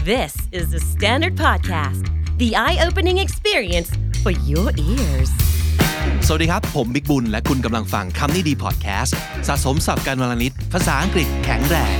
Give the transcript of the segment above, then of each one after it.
This is the Standard Podcast, the eye-opening experience for your ears. สวัสดีครับผมบิ๊กบุญและคุณกำลังฟังคำนี้ดีพอดแคสต์สะสมศัพท์การวลนิดภาษาอังกฤษแข็งแรง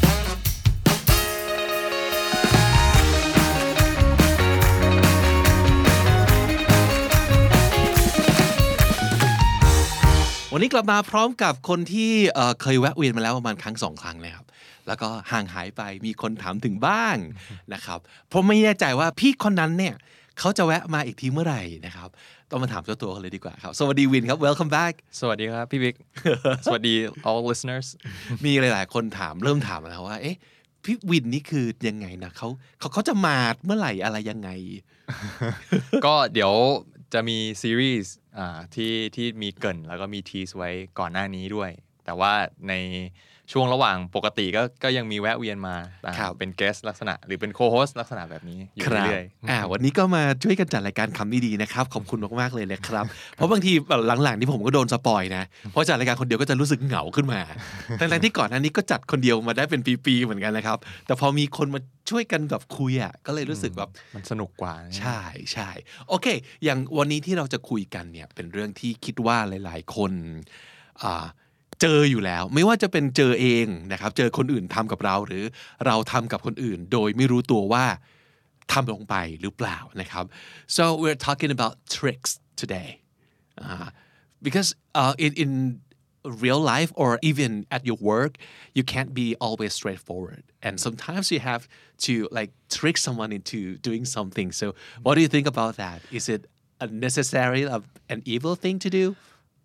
วันนี้กลับมาพร้อมกับคนที่เคยแวะเวียนมาแล้วประมาณครั้ง2ครั้งนะครับแล้วก็ห่างหายไปมีคนถามถึงบ้างนะครับเพราะไม่แน่ใจว่าพี่คนนั้นเนี่ยเขาจะแวะมาอีกทีเมื่อไหร่นะครับต้องมาถามเจ้าตัวกันเลยดีกว่าครับสวัสดีวินครับ welcome back สวัสดีครับพี่บิ๊ก สวัสดี all listeners มีหลายๆคนถามเริ่มถามแล้วว่าเอ๊ะพี่วินนี่คือยังไงนะเขาจะมาเมื่อไหร่อะไรยังไงก็เดี๋ยวจะมีซีรีส์ที่มีเกริ่นแล้วก็มีทีสไว้ก่อนหน้านี้ด้วยแต่ว่าในช่วงระหว่างปกติก็ยังมีแวะเวียนมาเป็นเกสลักษณะหรือเป็นโคโฮสลักษณะแบบนี้อยู่เรื่อยๆวันนี้ก็มาช่วยกันจัดรายการคำนี้ดีนะครับขอบคุณมากๆเลยนะครับเพราะบางทีหลังๆที่ผมก็โดนสปอยนะเพราะจัดรายการคนเดียวก็จะรู้สึกเหงาขึ้นมาทั้งที่ก่อนหน้านี้ก็จัดคนเดียวมาได้เป็นปีๆเหมือนกันนะครับแต่พอมีคนมาช่วยกันแบบคุยก็เลยรู้สึกแบบมันสนุกกว่าใช่โอเคอย่างวันนี้ที่เราจะคุยกันเนี่ยเป็นเรื่องที่คิดว่าหลายๆคนเจออยู่แล้วไม่ว่าจะเป็นเจอเองนะครับเจอคนอื่นทำกับเราหรือเราทำกับคนอื่นโดยไม่รู้ตัวว่าทำลงไปหรือเปล่านะครับ so we're talking about tricks today because in real life or even at your work you can't be always straightforward and sometimes you have to like trick someone into doing something so what do you think about that is it a necessary an evil thing to do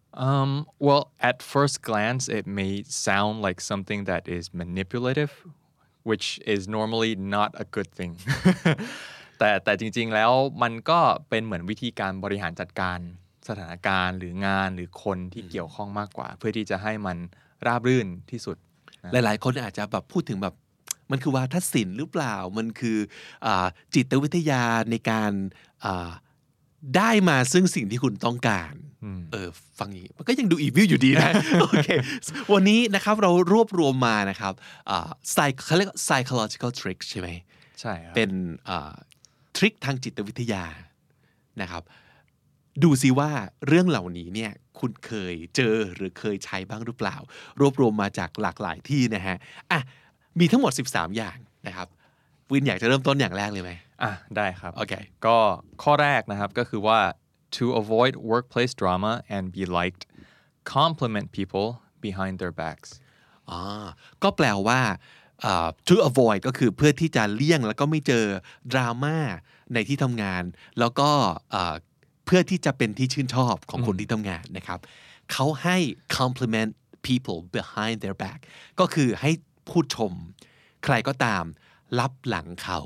well at first glance it may sound like something that is manipulative which is normally not a good thing แต่จริงๆแล้วมันก็เป็นเหมือนวิธีการบริหารจัดการสถานการณ์หรืองานหรือคนที่เกี่ยวข้องมากกว่าเพื่อที่จะให้มันราบรื่นที่สุดหลายๆคนอาจจะแบบพูดถึงแบบมันคือวาทศิลป์หรือเปล่ามันคือจิตวิทยาในการได้มาซึ่งสิ่งที่คุณต้องการฟังอย่างนี้มันก็ยังดูอีวิลอยู่ดีนะโอเควันนี้นะครับเรารวบรวมมานะครับเขาเรียก psychological trick ใช่ไหมใช่ครับเป็นทริคทางจิตวิทยานะครับดูซิว่าเรื่องเหล่านี้เนี่ยคุณเคยเจอหรือเคยใช้บ้างหรือเปล่ารวบรวมมาจากหลากหลายที่นะฮะมีทั้งหมด13อย่างนะครับวินอยากจะเริ่มต้นอย่างแรกเลยไหมได้ครับโอเคก็ข้อแรกนะครับก็คือว่า to avoid workplace drama and be liked compliment people behind their backs ก็แปลว่าto avoid ก็คือเพื่อที่จะเลี่ยงแล้วก็ไม่เจอดราม่าในที่ทำงานแล้วก็เพื่อที่จะเป็นที่ชื่นชอบของคนที่ทำงานนะครับเขาให้ compliment people behind their back ก็คือให้พูดชมใครก็ตามลับหลังเขา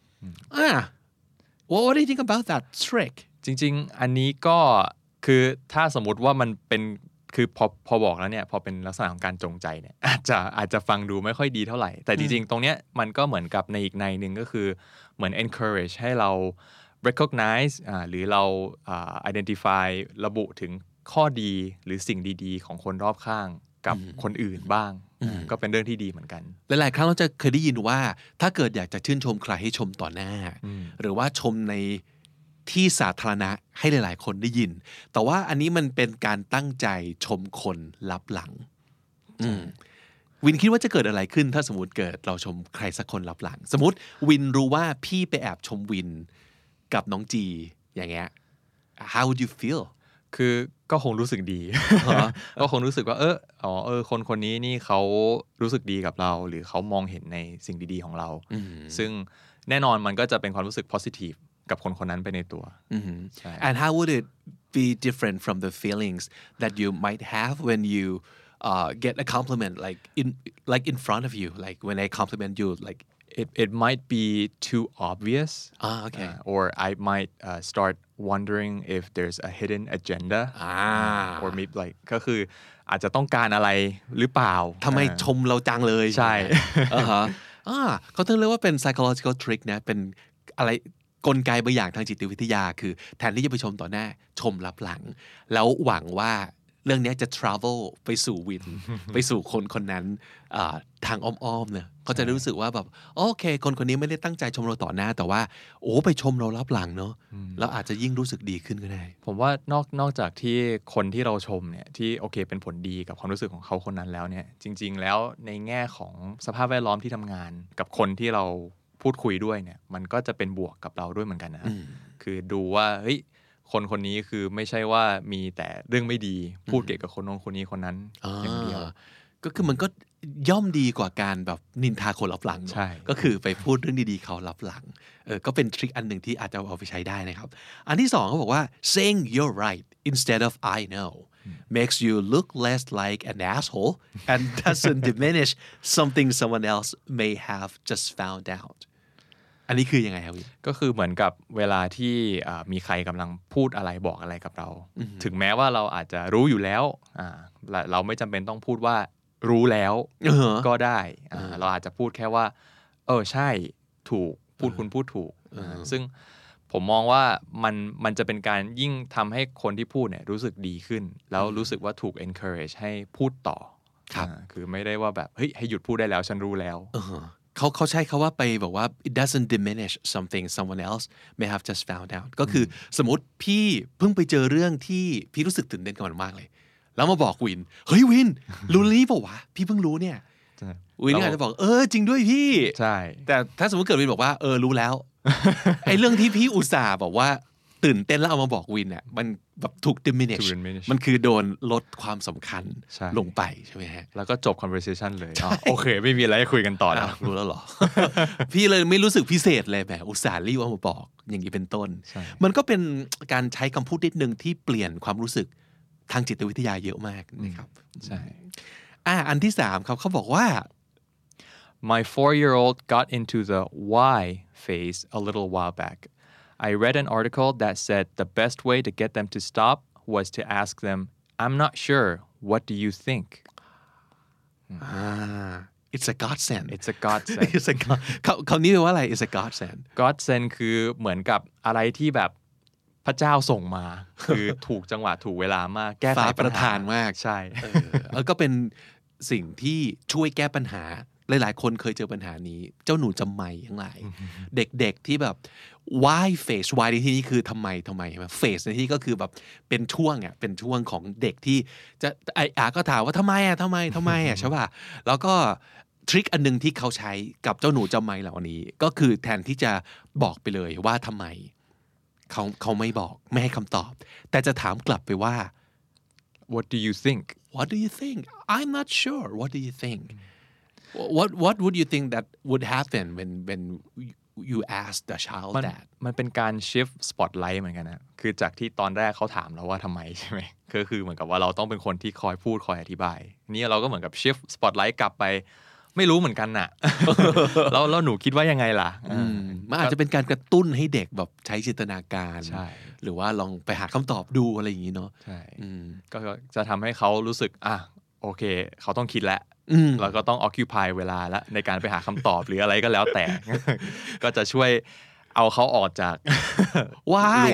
What do you think about that trick จริงๆอันนี้ก็คือถ้าสมมุติว่ามันเป็นคือพอบอกแล้วเนี่ยพอเป็นลักษณะของการจงใจเนี่ยอาจจะฟังดูไม่ค่อยดีเท่าไหร่แต่จริงๆตรงเนี้ยมันก็เหมือนกับในอีกในนึงก็คือเหมือน encourage ให้เรา recognize หรือเรา identify ระบุถึงข้อดีหรือสิ่งดีๆของคนรอบข้างกับคนอื่นบ้างก็เป็นเรื่องที่ดีเหมือนกันหลายๆครั้งเราจะเคยได้ยินว่าถ้าเกิดอยากจะชื่นชมใครให้ชมต่อหน้าหรือว่าชมในที่สาธารณะให้หลายๆคนได้ยินแต่ว่าอันนี้มันเป็นการตั้งใจชมคนลับหลังวินคิดว่าจะเกิดอะไรขึ้นถ้าสมมติเกิดเราชมใครสักคนลับหลังสมมติวินรู้ว่าพี่ไปแอบชมวินกับน้องจีอย่างเงี้ย how would you feel คือก็คงรู้สึกดี ก็คงรู้สึกว่าคนนี้นี่เขารู้สึกดีกับเราหรือเขามองเห็นในสิ่งดีๆของเราซึ่งแน่นอนมันก็จะเป็นความรู้สึก positive กับคนนั้นไปในตัว and how would it be different from the feelings that you might have when you get a compliment like in front of you like when I compliment you like it might be too obvious okay or I might start wondering if there's a hidden agenda or maybe like ก็คืออาจจะต้องการอะไรหรือเปล่าทำไมชมเราจังเลยใช่เขาถึงเรียกว่าเป็น psychological trick นะเป็นอะไรกลไกบางอย่างทางจิตวิทยาคือแทนที่จะไปชมต่อหน้าชมลับหลังแล้วหวังว่าเรื่องนี้จะ travel ไปสู่วิน ไปสู่คนคนนั้นทางอ้อมๆเนี่ยเขาจะรู้สึกว่าแบบโอเคคนคนนี้ไม่ได้ตั้งใจชมเราต่อหน้าแต่ว่าโอ้ไปชมเรารับหลังเนาะแล้วอาจจะยิ่งรู้สึกดีขึ้นก็ได้ผมว่านอกจากที่คนที่เราชมเนี่ยที่โอเคเป็นผลดีกับความรู้สึกของเขาคนนั้นแล้วเนี่ยจริงๆแล้วในแง่ของสภาพแวดล้อมที่ทำงานกับคนที่เราพูดคุยด้วยเนี่ยมันก็จะเป็นบวกกับเราด้วยเหมือนกันนะคือดูว่าเฮ้ยคนคนนี้คือไม่ใช่ว่ามีแต่เรื่องไม่ดีพูดเกี่ยวกับคนโน้นคนนี้คนนั้นอย่างเดียวก็คือมันก็ย่อมดีกว่าการแบบนินทาคนรับหลังใช่ก็คือไปพูดเรื่องดีๆเขารับหลังก็เป็นทริคอันหนึ่งที่อาจจะเอาไปใช้ได้นะครับอันที่สองเขาบอกว่า saying you're right instead of I know makes you look less like an asshole and doesn't diminish something someone else may have just found outอันนี้คือยังไงครับพี่ก็คือเหมือนกับเวลาที่มีใครกำลังพูดอะไรบอกอะไรกับเราถึงแม้ว่าเราอาจจะรู้อยู่แล้วเราไม่จำเป็นต้องพูดว่ารู้แล้วก็ได้เราอาจจะพูดแค่ว่าใช่ถูกคุณพูดถูกซึ่งผมมองว่ามันจะเป็นการยิ่งทำให้คนที่พูดเนี่ยรู้สึกดีขึ้นแล้วรู้สึกว่าถูก encourage ให้พูดต่อคือไม่ได้ว่าแบบเฮ้ยให้หยุดพูดได้แล้วฉันรู้แล้วเขาใช้คาว่าไปบอกว่า it doesn't diminish something someone else may have just found out ก็คือสมมติพี่เพิ่งไปเจอเรื่องที่พี่รู้สึกตื่นเต้นกับมันมากเลยแล้วมาบอกวินเฮ้ยวินรู้นี้เปล่าวะพี่เพิ่งรู้เนี่ยวินอาจจะบอกจริงด้วยพี่ใช่แต่ถ้าสมมติเกิดวินบอกว่ารู้แล้ว ไอ้เรื่องที่พี่อุตส่าห์บอกว่าตื่นเต้นแล้วเอามาบอกวินเนี่ยมันแบบถูก diminish มันคือโดนลดความสำคัญลงไปใช่ไหมฮะแล้วก็จบ conversation เลยโอเคไม่มีอะไรให้คุยกันต่อแล้วรู้แล้วหรอ พี่เลยไม่รู้สึกพิเศษเลยแบบอุตส่าห์รีบเอามาบอกอย่างนี้เป็นต้นมันก็เป็นการใช้คำพูดนิดนึงที่เปลี่ยนความรู้สึกทางจิตวิทยาเยอะมากนะครับใช่อันที่สามครับเขาบอกว่า My 4-year-old got into the why phase a little while back. I read an article that said the best way to get them to stop was to ask them, I'm not sure, what do you think? It's a godsend. It's a godsend. คำนี้แปลว่าอะไร It's a godsend. Godsend คือเหมือนกับอะไรที่แบบพระเจ้าส่งมา คือถูกจังหวะถูกเวลามากแก้ไขปัญหาประทานมากใช่ก็เป็นสิ่งที่ช่วยแก้ปัญหาหลายๆคนเคยเจอปัญหานี้เจ้าหนูจำไม่ทั้งหลายเด็กๆที่แบบ why phase why ในที่นี้คือทำไมใช่ไหม phase ในที่ก็คือแบบเป็นช่วงเป็นช่วงของเด็กที่จะก็ถามว่าทำไมใช่ป่ะแล้วก็ทริคอันนึงที่เขาใช้กับเจ้าหนูจำไม่เหล่านี้ก็คือแทนที่จะบอกไปเลยว่าทำไมเขาไม่บอกไม่ให้คำตอบแต่จะถามกลับไปว่า What do you think? What do you think? I'm not sure. What do you think? What would you think that would happen when you ask the child that? มันเป็นการ shift spotlight เหมือนกันนะคือจากที่ตอนแรกเขาถามเราว่าทำไมใช่ไหมก็คือเหมือนกับว่าเราต้องเป็นคนที่คอยพูดคอยอธิบายนี่เราก็เหมือนกับ shift spotlight กลับไปไม่รู้เหมือนกันน่ะ แล้วหนูคิดว่ายังไงล่ะมันอาจจะเป็นการกระตุ้นให้เด็กแบบใช้จินตนาการหรือว่าลองไปหาคำตอบดูอะไรอย่างนี้เนาะใช่ก็จะทำให้เขารู้สึกโอเคเขาต้องคิดแล้วแล้วก็ต้อง occupy เวลาละในการไปหาคำตอบหรืออะไรก็แล้วแต่ ก็จะช่วยเอาเขาออกจากว้าย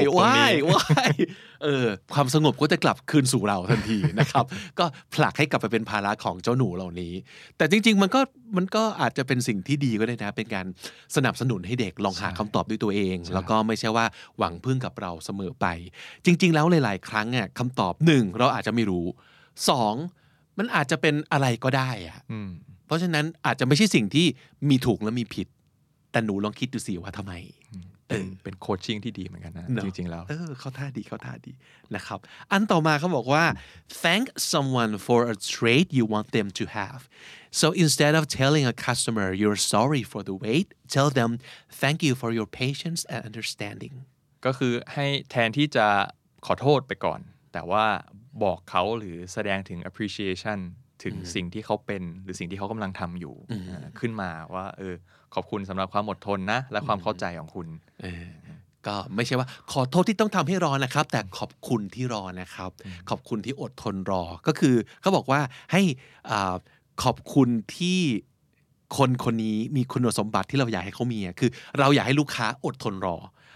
ความสงบก็จะกลับคืนสู่เราทันทีนะครับ ก็ผลักให้กลับไปเป็นภาระของเจ้าหนูเหล่านี้แต่จริงๆมันก็อาจจะเป็นสิ่งที่ดีก็ได้นะเป็นการสนับสนุนให้เด็กลองหาคำตอบด้วยตัวเองแล้วก็ไม่ใช่ว่าหวังพึ่งกับเราเสมอไปจริงๆแล้วหลายๆครั้งคำตอบ1เราอาจจะไม่รู้2มันอาจจะเป็นอะไรก็ได้เพราะฉะนั้นอาจจะไม่ใช่สิ่งที่มีถูกและมีผิดแต่หนูลองคิดดูสิว่าทำไมเป็นโคชชิ่งที่ดีเหมือนกันนะจริงๆแล้วเขาท่าดีนะครับอันต่อมาเขาบอกว่า thank someone for a trait you want them to have so instead of telling a customer you're sorry for the wait tell them thank you for your patience and understanding ก็คือให้แทนที่จะขอโทษไปก่อนแต่ว่าบอกเขาหรือแสดงถึง appreciation ถึงสิ่งที่เขาเป็นหรือสิ่งที่เขากำลังทำอยู่ขึ้นมาว่าขอบคุณสำหรับความอดทนนะและความเข้าใจของคุณก็ไม่ใช่ว่าขอโทษที่ต้องทำให้รอนะครับแต่ขอบคุณที่รอนะครับขอบคุณที่อดทนรอก็คือเขาบอกว่าให้ขอบคุณที่คนนี้มีคุณสมบัติที่เราอยากให้เขามีคือเราอยากให้ลูกค้าอดทนรอ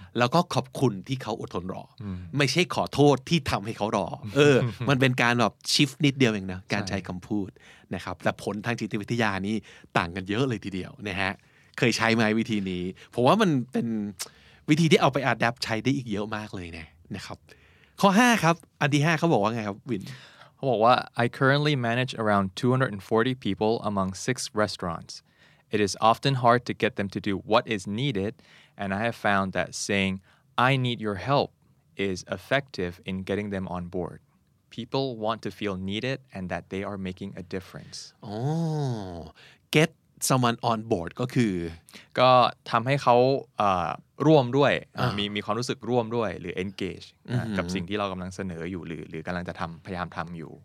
แล้วก็ขอบคุณที่เขาอดทนรอไม่ใช่ขอโทษที่ทำให้เขารอมันเป็นการแบบชิฟนิดเดียวเองนะการใช้คำพูดนะครับแต่ผลทางจิตวิทยานี่ต่างกันเยอะเลยทีเดียวนะฮะเคยใช้ไหมวิธีนี้ผมว่ามันเป็นวิธีที่เอาไปอัดแอปใช้ได้อีกเยอะมากเลยนะครับข้อ5ครับอันที่5เขาบอกว่าไงครับวินเขาบอกว่า I currently manage around 240 people among 6 restaurants. It is often hard to get them to do what is needed, and I have found that saying, I need your help is effective in getting them on board. People want to feel needed and that they are making a difference. Get someone on board ก็คือก็ทำให้เขาร่วมด้วยมีความรู้สึกร่วมด้วยหรือ engage กับสิ่งที่เรากำลังเสนออยู่หรือกำลังจะพยายามทำอยู่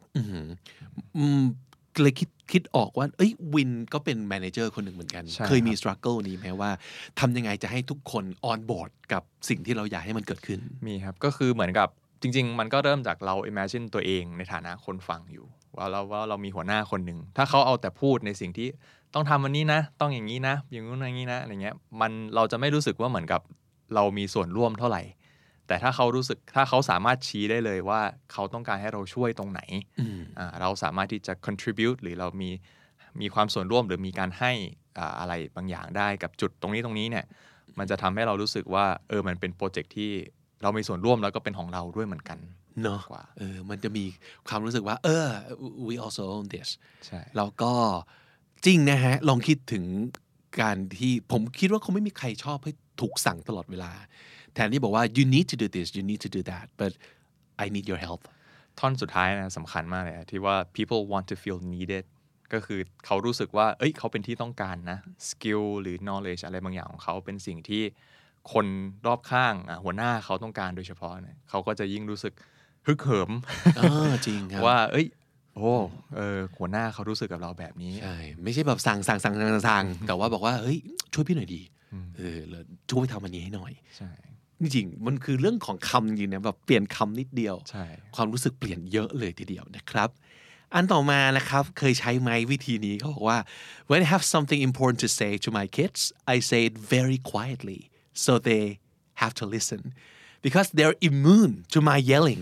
เลยคิดออกว่าวินก็เป็นแมเนเจอร์คนหนึ่งเหมือนกันเคยมี struggle นี้ไหมว่าทำยังไงจะให้ทุกคน on board กับสิ่งที่เราอยากให้มันเกิดขึ้นมีครับก็คือเหมือนกับจริงๆมันก็เริ่มจากเรา imagine ตัวเองในฐานะคนฟังอยู่ว่าเรามีหัวหน้าคนหนึ่งถ้าเขาเอาแต่พูดในสิ่งที่ต้องทำวันนี้นะต้องอย่างนี้นะอย่างนู้นอย่างนี้นะอะไรเงี้ยเราจะไม่รู้สึกว่าเหมือนกับเรามีส่วนร่วมเท่าไหร่แต่ถ้าเขาสามารถชี้ได้เลยว่าเขาต้องการให้เราช่วยตรงไหนเราสามารถที่จะ contribute หรือเรามีความส่วนร่วมหรือมีการให้อะไรบางอย่างได้กับจุดตรงนี้เนี่ยมันจะทำให้เรารู้สึกว่ามันเป็นโปรเจกต์ที่เรามีส่วนร่วมแล้วก็เป็นของเราด้วยเหมือนกันเนาะมันจะมีความรู้สึกว่าwe also own this ใช่แล้วก็จริงนะฮะลองคิดถึงการที่ผมคิดว่าคงไม่มีใครชอบให้ถูกสั่งตลอดเวลาแทนที่บอกว่า you need to do this you need to do that but I need your help ท่อนสุดท้ายนะสำคัญมากเลยที่ว่า people want to feel needed ก็คือเขารู้สึกว่าเขาเป็นที่ต้องการนะ skill หรือ knowledge อะไรบางอย่างของเขาเป็นสิ่งที่คนรอบข้างหัวหน้าเขาต้องการโดยเฉพาะเนี่ยเขาก็จะยิ่งรู้สึกฮึกเหิมจริงครับว่าหัวหน้าเขารู้สึกกับเราแบบนี้ใช่ไม่ใช่แบบสั่งแต่ว่าบอกว่าเฮ้ยช่วยพี่หน่อยดีช่วยทำอันนี้ให้หน่อยใช่จริงๆมันคือเรื่องของคำจริงนะแบบเปลี่ยนคำนิดเดียวความรู้สึกเปลี่ยนเยอะเลยทีเดียวนะครับอันต่อมานะครับเคยใช้ไหมวิธีนี้เขาบอกว่า when I have something important to say to my kids I say it very quietly so they have to listen because they're immune to my yelling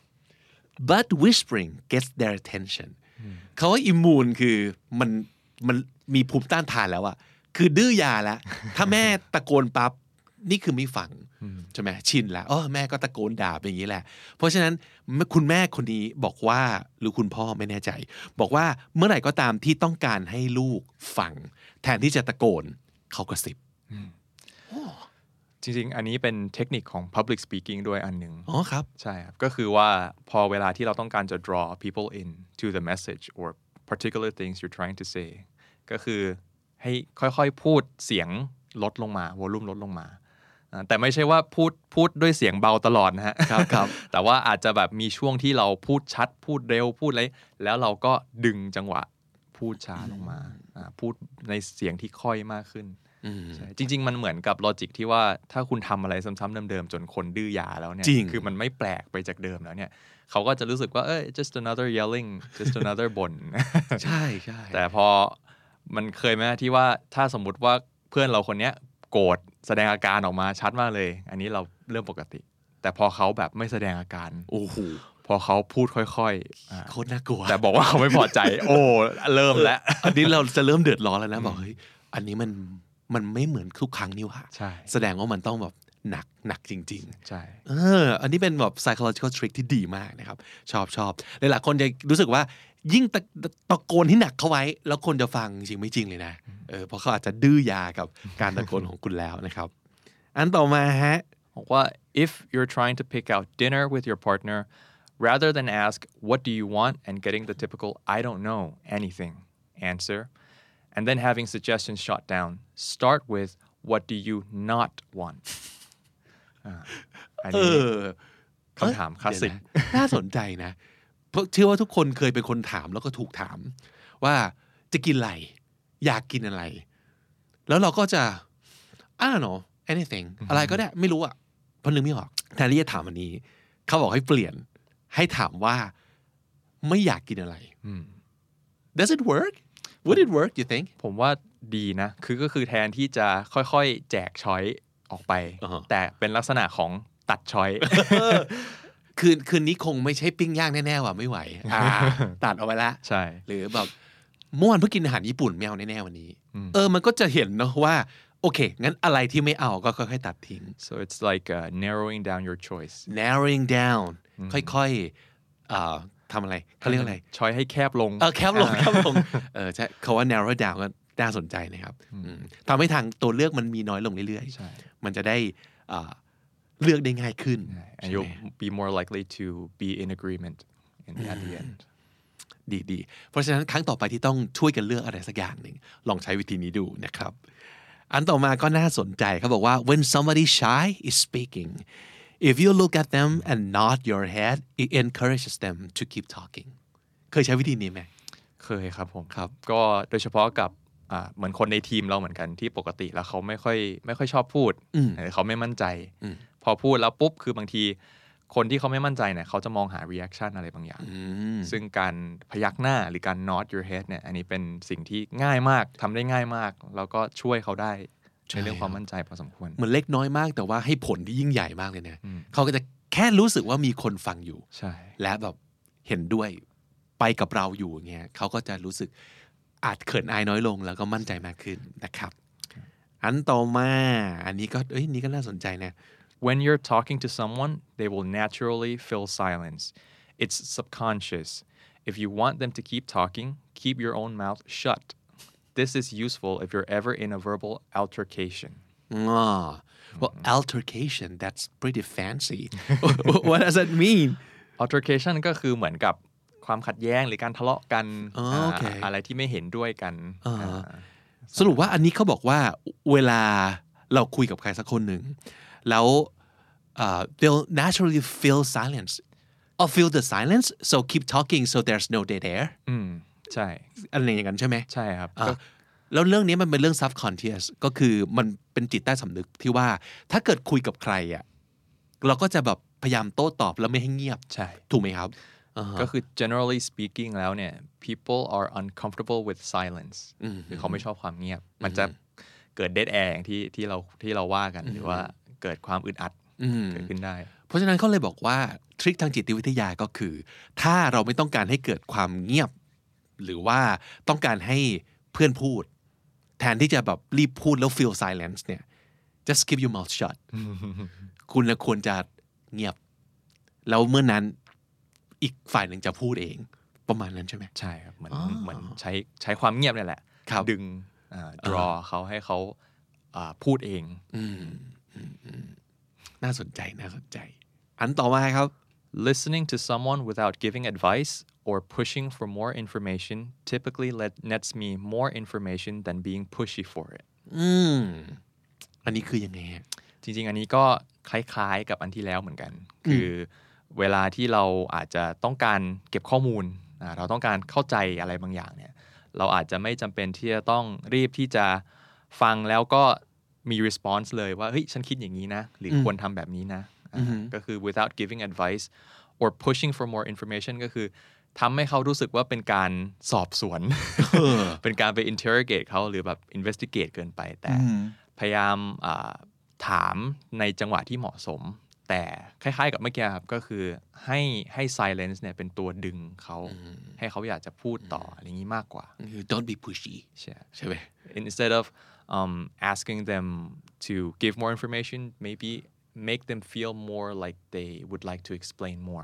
but whispering gets their attention เขาว่า immune คือมันมีภูมิต้านทานแล้วอะคือดื้อยาแล้วถ้าแม่ตะโกนปั๊บนี่คือไม่ฟังใช่ไหมชินแล้วแม่ก็ตะโกนด่าเป็นอย่างนี้แหละเพราะฉะนั้นคุณแม่คนนี้บอกว่าหรือคุณพ่อไม่แน่ใจบอกว่าเมื่อไหร่ก็ตามที่ต้องการให้ลูกฟังแทนที่จะตะโกนเขากระซิบจริงๆอันนี้เป็นเทคนิคของ public speaking ด้วยอันหนึ่งครับใช่ครับก็คือว่าพอเวลาที่เราต้องการจะ draw people in to the message or particular things you're trying to say ก็คือให้ค่อยๆพูดเสียงลดลงมาวอลลุ่มลดลงมาแต่ไม่ใช่ว่าพูดด้วยเสียงเบาตลอดนะฮะครับแต่ว่าอาจจะแบบมีช่วงที่เราพูดชัดพูดเร็วพูดอะไรแล้วเราก็ดึงจังหวะพูดช้าลงมาพูดในเสียงที่ค่อยมากขึ้นใช่จริงๆมันเหมือนกับลอจิกที่ว่าถ้าคุณทำอะไรซ้ำๆเดิมๆจนคนดื้อยาแล้วเนี่ยคือมันไม่แปลกไปจากเดิมแล้วเนี่ยเขาก็จะรู้สึกว่าjust another yelling just another บ่นใช่ใช่แต่พอมันเคยไหมที่ว่าถ้าสมมุติว่าเพื่อนเราคนเนี้ยโกรธแสดงอาการออกมาชัดมากเลยอันนี้เราเรื่องปกติแต่พอเขาแบบไม่แสดงอาการพอเขาพูดค่อยๆโคตรน่ากลัวแต่บอกว่าเขาไม่พอใจเริ่มแล้วอันนี้เราจะเริ่มเดือดร้อนแล้วนะบอกเฮ้ยอันนี้มันไม่เหมือนทุกครั้งนี่หว่าแสดงว่ามันต้องแบบหนักจริงๆใช่อันนี้เป็นแบบ psychological trick ที่ดีมากนะครับชอบหลายๆคนจะรู้สึกว่ายิ่งตะโกนให้หนักเข้าไว้แล้วคนจะฟังจริงไม่จริงเลยนะเพราะเขาอาจจะดื้อยากับการตะโกนของคุณแล้วนะครับอันต่อมาฮะบอกว่า if you're trying to pick out dinner with your partner rather than ask what do you want and getting the typical I don't know anything answer and then having suggestions shot down start with what do you not want อันนี้คำถามคลาสสิกน่าสนใจนะเพราะเชื่อว่าทุกคนเคยเป็นคนถามแล้วก็ถูกถามว่าจะกินอะไรอยากกินอะไรแล้วเราก็จะ I don't know anything อะไรก็ได้ไม่รู้อ่ะเพราะนึกไม่ออกแทนที่จะถามอันนี้เขาบอกให้เปลี่ยนให้ถามว่าไม่อยากกินอะไร Does it work Would it work you think ผมว่าดีนะก็คือแทนที่จะค่อยๆแจกช้อยออกไป แต่เป็นลักษณะของตัดช้อยคืนนี้คงไม่ใช่ปิ้งย่างแน่ๆว่ะไม่ไหวตัดเอาไว้ละใช่หรือแบบเมื่อวานเพิ่งกินอาหารญี่ปุ่นไม่เอาแน่ๆวันนี้มันก็จะเห็นเนาะว่าโอเคงั้นอะไรที่ไม่เอาก็ค่อยๆตัดทิ้ง so it's like narrowing down your choice narrowing down ค่อยๆทำอะไรเขาเรียกอะไรช้อยให้แคบลงแคบลงใช่เขาว่า narrow down ก็น่าสนใจนะครับทำให้ทางตัวเลือกมันมีน้อยลงเรื่อยๆมันจะได้เลือกได้ง่ายขึ้น and you'll be more likely to be in agreement at the end ดีเพราะฉะนั้นครั้งต่อไปที่ต้องช่วยกันเลือกอะไรสักอย่างหนึ่งลองใช้วิธีนี้ดูนะครับอันต่อมาก็น่าสนใจเขาบอกว่า when somebody shy is speaking if you look at them and nod your head it encourages them to keep talking เคยใช้วิธีนี้ไหมเคยครับผมครับก็โดยเฉพาะกับเหมือนคนในทีมเราเหมือนกันที่ปกติแล้วเขาไม่ค่อยชอบพูดเขาไม่มั่นใจพอพูดแล้วปุ๊บคือบางทีคนที่เขาไม่มั่นใจเนี่ยเขาจะมองหา reaction อะไรบางอย่างซึ่งการพยักหน้าหรือการ nod your head เนี่ยอันนี้เป็นสิ่งที่ง่ายมากทำได้ง่ายมากแล้วก็ช่วยเขาได้ในเรื่องความมั่นใจพอสมควรเหมือนเล็กน้อยมากแต่ว่าให้ผลที่ยิ่งใหญ่มากเลยเนี่ยเขาก็จะแค่รู้สึกว่ามีคนฟังอยู่และแบบเห็นด้วยไปกับเราอยู่อย่างเงี้ยเขาก็จะรู้สึกอาจเขินอายน้อยลงแล้วก็มั่นใจมากขึ้นนะครับอันต่อมาอันนี้ก็นี่ก็น่าสนใจนะ When you're talking to someone they will naturally fill silence it's subconscious if you want them to keep talking keep your own mouth shut this is useful if you're ever in a verbal altercation well altercation that's pretty fancy what does that mean altercation ก็คือเหมือนกับความขัดแย้งหรือการทะเลาะกันอะไรที่ไม่เห็นด้วยกันสรุปว่าอันนี้เขาบอกว่าเวลาเราคุยกับใครสักคนหนึ่งแล้วthey'll naturally fill silence or fill the silence so keep talking so there's no dead air ใช่อะไรอย่างนั้นใช่ไหมใช่ครับแล้วเรื่องนี้มันเป็นเรื่อง subconscious ก็คือมันเป็นจิตใต้สำนึกที่ว่าถ้าเกิดคุยกับใครอ่ะเราก็จะแบบพยายามโต้ตอบแล้วไม่ให้เงียบใช่ถูกไหมครับก็คือ generally speaking แล้วเนี่ย people are uncomfortable with silence คือเขาไม่ชอบความเงียบมันจะเกิด dead air อย่างที่เราว่ากันหรือว่าเกิดความอึดอัดเกิดขึ้นได้เพราะฉะนั้นเขาเลยบอกว่าทริคทางจิตวิทยาก็คือถ้าเราไม่ต้องการให้เกิดความเงียบหรือว่าต้องการให้เพื่อนพูดแทนที่จะแบบรีบพูดแล้ว feel silence เนี่ย just keep your mouth shut คุณควรจะเงียบแล้วเมื่อนั้นอีกฝ่ายหนึ่งจะพูดเองประมาณนั้นใช่ไหมใช่ครับเหมือนใช้ความเงียบนี่แหละดึงdraw เขาให้เขาพูดเองน่าสนใจอันต่อมาครับ listening to someone without giving advice or pushing for more information typically nets me more information than being pushy for it อันนี้คือยังไงจริงๆอันนี้ก็คล้ายๆกับอันที่แล้วเหมือนกันคือเวลาที่เราอาจจะต้องการเก็บข้อมูลเราต้องการเข้าใจอะไรบางอย่างเนี่ยเราอาจจะไม่จำเป็นที่จะต้องรีบที่จะฟังแล้วก็มี response เลยว่าเฮ้ยฉันคิดอย่างนี้นะหรือควรทำแบบนี้นะก็คือ without giving advice or pushing for more information ก็คือทำให้เขารู้สึกว่าเป็นการสอบสวน เป็นการไป interrogate เขาหรือแบบ investigate เกินไปแต่พยายามถามในจังหวะที่เหมาะสมแต่คล้ายๆกับเมื่อกี้ครับก็คือให้ silence เนี่ยเป็นตัวดึงเขาให้เขาอยากจะพูดต่ออะไรอย่างนี้มากกว่า don't be pushy ใช่ไหม instead of asking them to give more information maybe make them feel more like they would like to explain more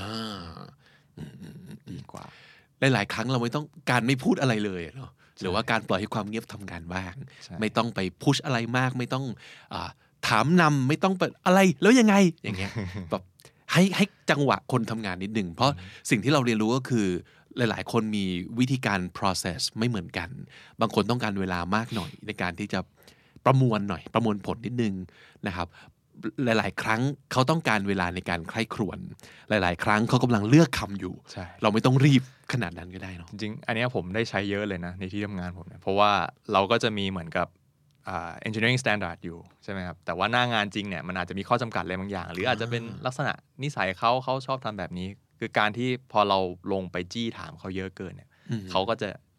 ดีกว่าหลายๆครั้งเราไม่ต้องการไม่พูดอะไรเลยเนาะหรือว่าการปล่อยให้ความเงียบทำงานบ้างไม่ต้องไปพุชอะไรมากไม่ต้องถามนำไม่ต้องอะไรแล้วยังไงอย่างเงี้ยแบบให้จังหวะคนทำงานนิดหนึ่งเพราะสิ่งที่เราเรียนรู้ก็คือหลายๆคนมีวิธีการ process ไม่เหมือนกันบางคนต้องการเวลามากหน่อยในการที่จะประมวลผลนิดนึงนะครับหลายๆครั้งเขาต้องการเวลาในการใคร่ครวญหลายๆครั้งเขากำลังเลือกคำอยู่เราไม่ต้องรีบขนาดนั้นก็ได้เนาะจริงๆอันนี้ผมได้ใช้เยอะเลยนะในที่ทำงานผมเนี่ยเพราะว่าเราก็จะมีเหมือนกับengineering standard อยู่ใช่ไหมครับแต่ว่าหน้างานจริงเนี่ยมันอาจจะมีข้อจำกัดอะไรบางอย่างหรืออาจจะเป็นลักษณะนิสัยเขาชอบทำแบบนี้คือการที่พอเราลงไปจี้ถามเขาเยอะเกินเนี่ยเขาก็จะ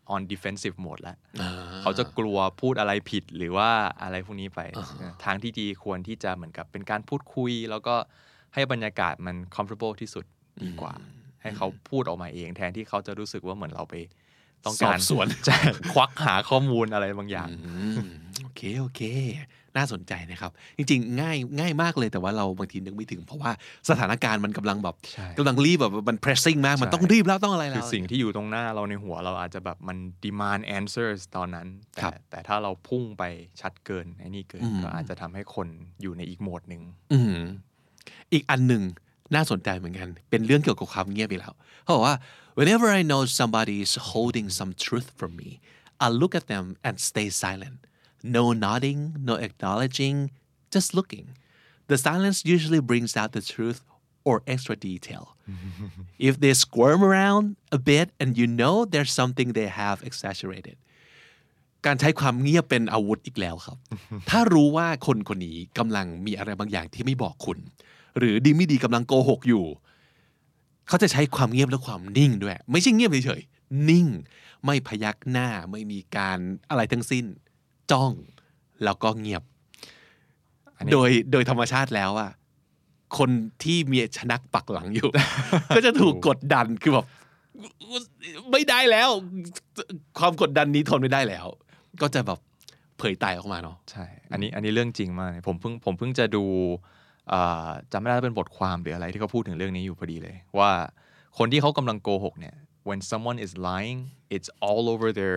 on defensive mode แล้วเขาจะกลัวพูดอะไรผิดหรือว่าอะไรพวกนี้ไปทางที่ดีควรที่จะเหมือนกับเป็นการพูดคุยแล้วก็ให้บรรยากาศมัน comfortable ที่สุดดีกว่าให้เขาพูดออกมาเองแทนที่เขาจะรู้สึกว่าเหมือนเราไปต้องการสวนควักหาข้อมูลอะไรบางอย่างโอเคน่าสนใจนะครับจริงๆง่ายมากเลยแต่ว่าเราบางทีนึกไม่ถึงเพราะว่าสถานการณ์มันกำลังรีบแบบมัน pressing มากมันต้องรีบแล้วต้องอะไรแล้วคือสิ่งที่อยู่ตรงหน้าเราในหัวเราอาจจะแบบมัน demand answers ตอนนั้นแต่ถ้าเราพุ่งไปชัดเกินไอ้นี่เกินก็อาจจะทำให้คนอยู่ในอีกโหมดนึงอีกอันหนึ่งน่าสนใจเหมือนกันเป็นเรื่องเกี่ยวกับความเงียบไปแล้วเขาบอกว่า whenever I know somebody is holding some truth from me I look at them and stay silent no nodding no acknowledging just looking the silence usually brings out the truth or extra detail if they squirm around a bit and you know there's something they have exaggerated การใช้ความเงียบเป็นอาวุธอีกแล้วครับ ถ้ารู้ว่าคนคนนี้กำลังมีอะไรบางอย่างที่ไม่บอกคุณหรือดีไม่ดีกำลังโกหกอยู่เขาจะใช้ความเงียบและความนิ่งด้วยไม่ใช่เงียบเฉยๆนิ่งไม่พยักหน้าไม่มีการอะไรทั้งสิ้นจ้องแล้วก็เงียบโดยธรรมชาติแล้วอะคนที่มีชนักปักหลังอยู่ ก็จะถูกกดดันคือแบบไม่ได้แล้วความกดดันนี้ทนไม่ได้แล้วก็จะแบบเผยไตออกมาเนาะใช่อันนี้เรื่องจริงมากผมเพิ่งจะดูจำไม่ได้เป็นบทความหรืออะไรที่เขาพูดถึงเรื่องนี้อยู่พอดีเลยว่าคนที่เขากำลังโกหกเนี่ย when someone is lying it's all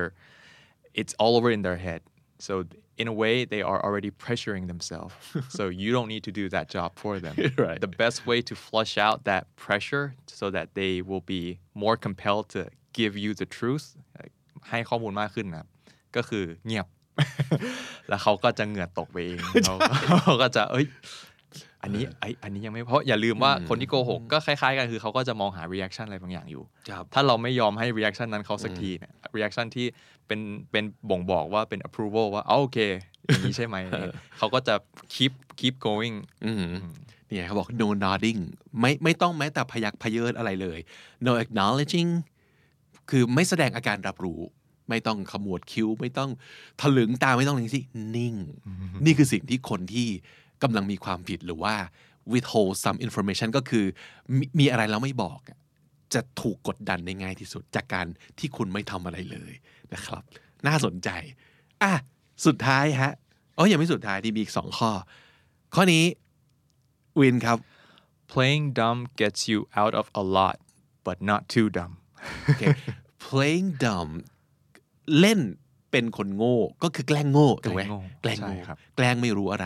over in their head so in a way they are already pressuring themselves so you don't need to do that job for them right. the best way to flush out that pressure so that they will be more compelled to give you the truth ให้ข้อมูลมากขึ้นนะก็คือเงียบ แล้วเขาก็จะเหงื่อตกไปเอง เขาก็จะอันนี้ยังไม่เพราะอย่าลืมว่าคนที่โกหกก็คล้ายๆกันคือเขาก็จะมองหา reaction อะไรบางอย่างอยู่ถ้าเราไม่ยอมให้ reaction นั้นเขาสักทีเนี่ย reaction ที่เป็นบ่งบอกว่าเป็น approval ว่าโอเคอย่างนี้ใช่ไหม เขาก็จะ keep going เนี่ยเขาบอก no nodding ไม่ต้องแม้แต่พยักพเยิดอะไรเลย no acknowledging คือไม่แสดงอาการรับรู้ไม่ต้องขมวดคิ้วไม่ต้องถลึงตาไม่ต้องอะไรสินิ่งนี่คือสิ่งที่คนที่กำลังมีความผิดหรือว่า withhold some information ก็คือมีอะไรแล้วไม่บอกจะถูกกดดันได้ง่ายที่สุดจากการที่คุณไม่ทำอะไรเลยนะครับน่าสนใจสุดท้ายฮะยังไม่สุดท้ายที่มีอีก2ข้อนี้วินครับ playing dumb gets you out of a lot but not too dumb okay. playing dumb เล่นเป็นคนโง่ก็คือแกล้งโง่ถูกไหมแกล้งโง่แกล้งไม่รู้อะไร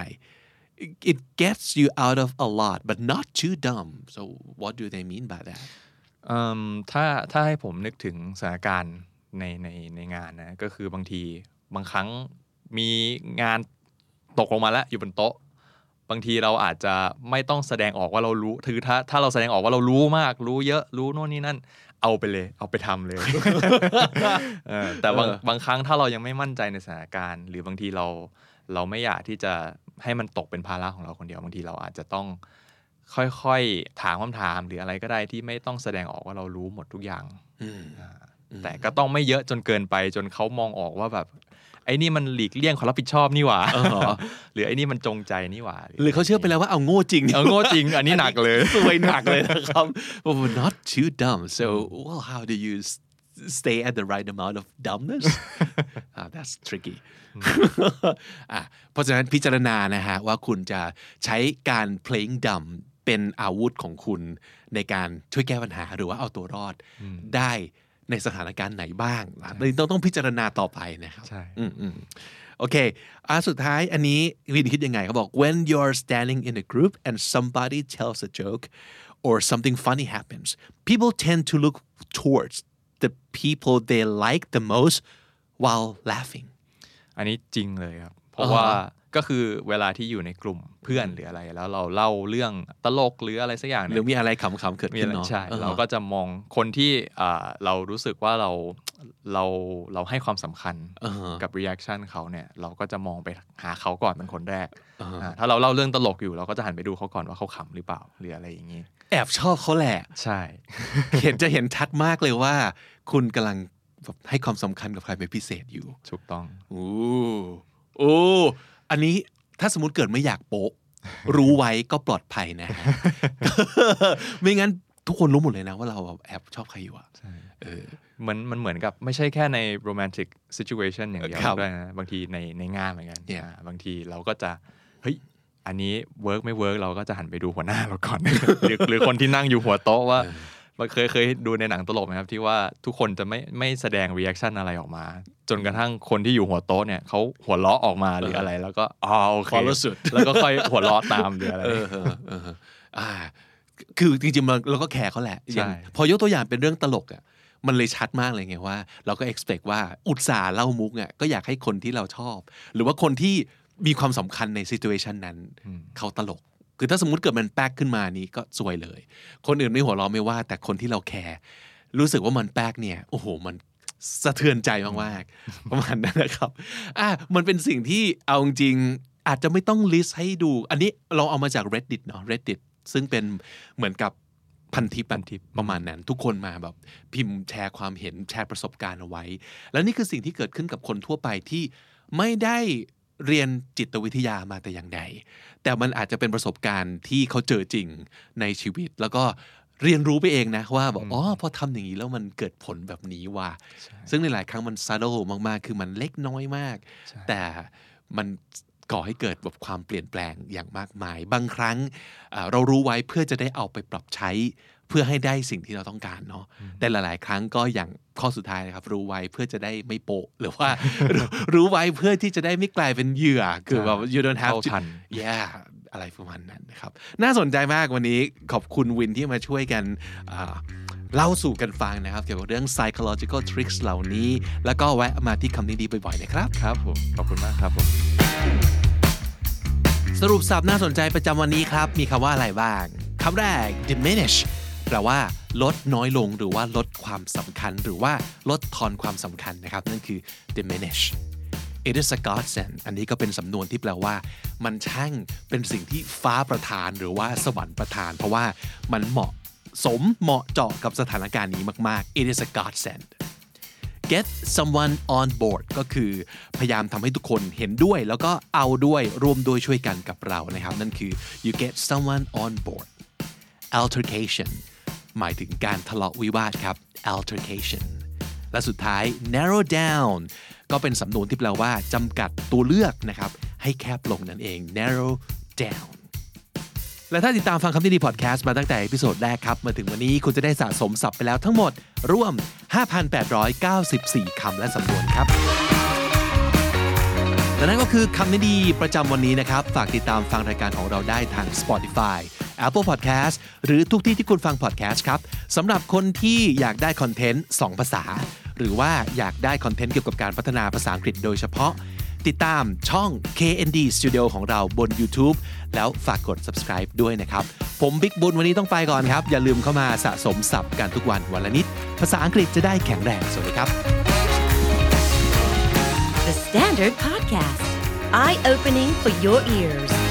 it gets you out of a lot but not too dumb so what do they mean by that ถ้าให้ผมนึกถึงสถานการณ์ในงานนะก็คือบางครั้งมีงานตกลงมาแล้วอยู่บนโต๊ะบางทีเราอาจจะไม่ต้องแสดงออกว่าเรารู้ถือถ้าเราแสดงออกว่าเรารู้มากรู้เยอะรู้โน่นนี่นั่นเอาไปเลยเอาไปทำเลย แต่บางครั้งถ้าเรายังไม่มั่นใจในสถานการณ์หรือบางทีเราไม่อยากที่จะให้มันตกเป็นภาระของเราคนเดียวบางทีเราอาจจะต้องค่อยๆถามคำถามหรืออะไรก็ได้ที่ไม่ต้องแสดงออกว่าเรารู้หมดทุกอย่างแต่ก็ต้องไม่เยอะจนเกินไปจนเขามองออกว่าแบบไอ้นี่มันหลีกเลี่ยงความรับผิดชอบนี่หว่า หรือไอ้นี่มันจงใจนี่หว่าหรือเขาเชื่อไปแล้วว่าเอาโง่จริงโง่จริงอันนี้หนักเลยสวยหนักเลยนะครับ not too dumb so well how do you stay at the right amount of dumbness that's tricky เพราะฉะนั้นพิจารณานะฮะว่าคุณจะใช้การ playing dumb เป็นอาวุธของคุณในการช่วยแก้ปัญหาหรือว่าเอาตัวรอดได้ในสถานการณ์ไหนบ้างต้องพิจารณาต่อไปนะครับใช่โอเคสุดท้ายอันนี้วินคิดยังไงเขาบอก when you're standing in a group and somebody tells a joke or something funny happens people tend to look towards the people they like the most while laughing อันนี้จริงเลยครับเพราะว่าก็คือเวลาที่อยู่ในกลุ่มเพื่อนหรืออะไรแล้วเราเล่าเรื่องตลกหรืออะไรสักอย่างหรือมีอะไรขำๆเกิดขึ้นเนาะใช่เราก็จะมองคนที่เรารู้สึกว่าเราให้ความสำคัญกับ reaction เขาเนี่ยเราก็จะมองไปหาเขาก่อนเป็นคนแรกถ้าเราเล่าเรื่องตลกอยู่เราก็จะหันไปดูเขาก่อนว่าเขาขำหรือเปล่าหรืออะไรอย่างนี้แอบชอบเขาแหละใช่จะเห็นชัดมากเลยว่าคุณกำลังแบบให้ความสำคัญกับใครเป็นพิเศษอยู่ถูกต้องโอ้อันนี้ถ้าสมมุติเกิดไม่อยากโป๊ะ รู้ไว้ก็ปลอดภัยนะ ไม่งั้นทุกคนรู้หมดเลยนะว่าเราแอบชอบใครอยู่อ่ะมันเหมือนกับไม่ใช่แค่ใน romantic situation อย่างเดียวด้วยนะบางทีในงานเหมือนกันบางทีเราก็จะเฮ้ยอันนี้เวิร์กไม่เวิร์กเราก็จะหันไปดูหัวหน้าเราก่อน หรือคนที่นั่งอยู่หัวโต๊ะว่าเคยดูในหนังตลกไหมครับที่ว่าทุกคนจะไม่แสดง reaction อะไรออกมาจนกระทั่งคนที่อยู่หัวโต๊ะเนี่ยเขาหัวเราะออกมาหรืออะไรแล้วก็โอเคแล้วก็ค่อยหัวเราะตามหรืออะไรคือจริงๆเราก็แคร์เขาแหละพอยกตัวอย่างเป็นเรื่องตลกอ่ะมันเลยชัดมากเลยไงว่าเราก็ expect ว่าอุตส่าห์เล่ามุกอ่ะก็อยากให้คนที่เราชอบหรือว่าคนที่มีความสำคัญใน situation นั้นเขาตลกคือถ้าสมมุติเกิดมันแป๊กขึ้นมานี้ก็ซวยเลยคนอื่นไม่หัวเราะไม่ว่าแต่คนที่เราแคร์รู้สึกว่ามันแป๊กเนี่ยโอ้โหมันสะเทือนใจมากๆประมาณนั้นนะครับมันเป็นสิ่งที่เอาจริงอาจจะไม่ต้องลิสต์ให้ดูอันนี้เราเอามาจาก Reddit เนาะ Reddit ซึ่งเป็นเหมือนกับพันทิปประมาณนั้นทุกคนมาแบบพิมพ์แชร์ความเห็นแชร์ประสบการณ์เอาไว้แล้วนี่คือสิ่งที่เกิดขึ้นกับคนทั่วไปที่ไม่ได้เรียนจิตวิทยามาแต่อย่างใดแต่มันอาจจะเป็นประสบการณ์ที่เขาเจอจริงในชีวิตแล้วก็เรียนรู้ไปเองนะว่าบอกพอทำอย่างนี้แล้วมันเกิดผลแบบนี้ว่ะซึ่งในหลายครั้งมันซัดโดมากๆคือมันเล็กน้อยมากแต่มันก่อให้เกิดแบบความเปลี่ยนแปลงอย่างมากมายบางครั้งเรารู้ไว้เพื่อจะได้เอาไปปรับใช้เพื่อให้ได้สิ่งที่เราต้องการเนาะแต่หลายๆครั้งก็อย่างข้อสุดท้ายนะครับรู้ไว้เพื่อจะได้ไม่โปะหรือว่า รู้ไว้เพื่อที่จะได้ไม่กลายเป็นเหยื่อคือแบบ you don't have to yeah อะไรประมาณนั้นนะครับน่าสนใจมากวันนี้ขอบคุณวินที่มาช่วยกันเล่าสู่กันฟังนะครับเกี่ยวกับเรื่อง psychological tricks เหล่านี้แล้วก็แวะมาที่คำนี้ดีบ่อยๆนะครับครับผมขอบคุณมากครับผมสรุปศัพท์น่าสนใจประจำวันนี้ครับมีคำว่าอะไรบ้างคำแรก diminish แปลว่าลดน้อยลงหรือว่าลดความสำคัญหรือว่าลดทอนความสำคัญนะครับนั่นคือ diminish it is a godsend อันนี้ก็เป็นสำนวนที่แปลว่ามันช่างเป็นสิ่งที่ฟ้าประทานหรือว่าสวรรค์ประทานเพราะว่ามันเหมาะเจาะกับสถานการณ์นี้มากๆ it is a godsend get someone on board ก็คือพยายามทำให้ทุกคนเห็นด้วยแล้วก็เอาด้วยร่วมด้วยช่วยกันกับเรานะครับนั่นคือ you get someone on board altercation หมายถึงการทะเลาะวิวาทครับ altercation และสุดท้าย narrow down ก็เป็นสำนวนที่แปลว่าจำกัดตัวเลือกนะครับให้แคบลงนั่นเอง narrow down และถ้าติดตามฟังคำนี้ดีพอดแคสต์มาตั้งแต่เอพิโซดแรกครับมาถึงวันนี้คุณจะได้สะสมศัพท์ไปแล้วทั้งหมดรวม 5,894 คำและสำนวนครับและนั่นก็คือคำนี้ดีประจำวันนี้นะครับฝากติดตามฟังรายการของเราได้ทาง Spotify Apple Podcast หรือทุกที่ที่คุณฟัง podcast ครับสำหรับคนที่อยากได้คอนเทนต์2ภาษาหรือว่าอยากได้คอนเทนต์เกี่ยวกับการพัฒนาภาษาอังกฤษโดยเฉพาะติดตามช่อง KND Studio ของเราบน YouTube แล้วฝากกด subscribe ด้วยนะครับผมบิ๊กบุญวันนี้ต้องไปก่อนครับอย่าลืมเข้ามาสะสมศัพท์กันทุกวันวันละนิดภาษาอังกฤษจะได้แข็งแรงสวัสดีครับ The Standard Podcast Eye Opening for Your Ears